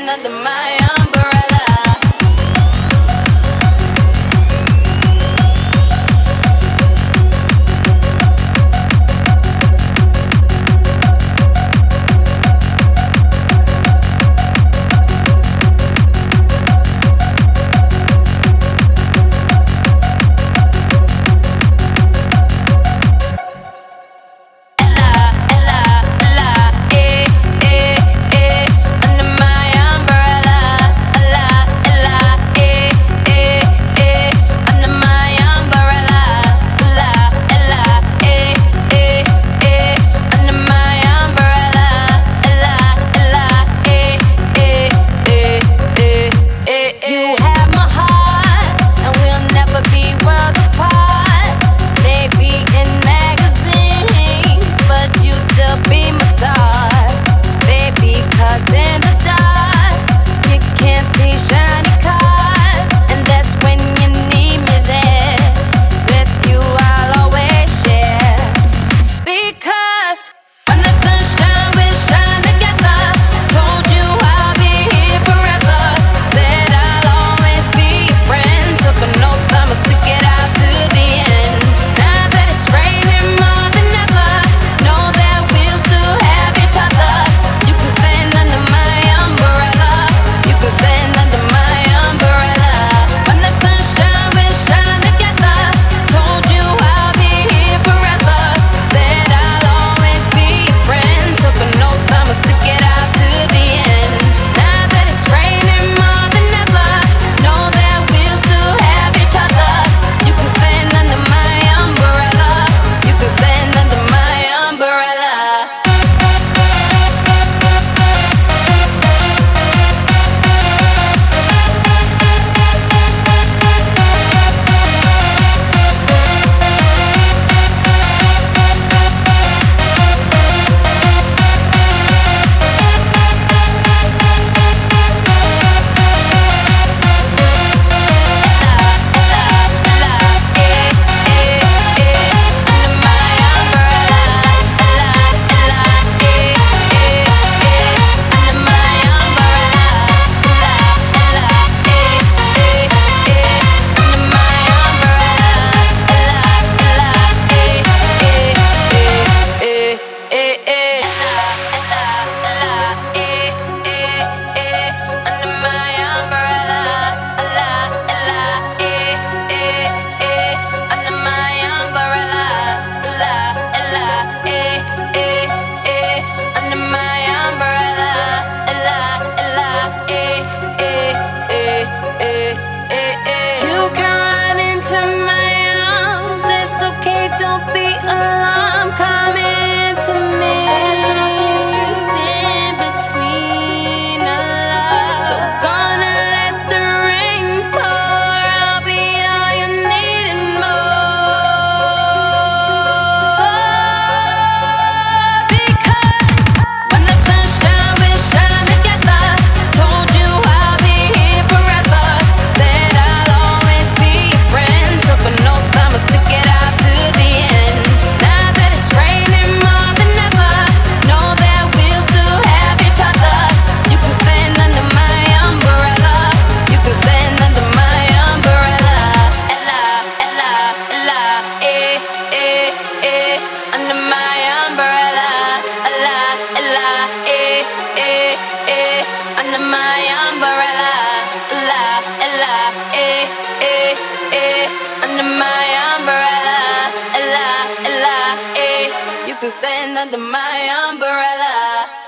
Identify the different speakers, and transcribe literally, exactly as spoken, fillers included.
Speaker 1: stand under my umbrella.
Speaker 2: Don't be alarmed, come into me. There's no distance in between our love. So gonna let the rain pour. I'll be all you need and more. Because when the sun shines, we shine together. Told you I'll be here forever. Said I'll always be your friend. Took an oath, I'ma stick it out to the end. Now that it's raining more than ever, know that we'll still have each other. You can stand under my umbrella. You can stand under my umbrella. Ella, Ella, Ella, eh, eh, eh, under my umbrella. Ella, Ella, eh, eh, eh, under my umbrella. Ella, Ella, eh, eh, eh, under my umbrella. Ella, Ella, eh, you can stand under my umbrella.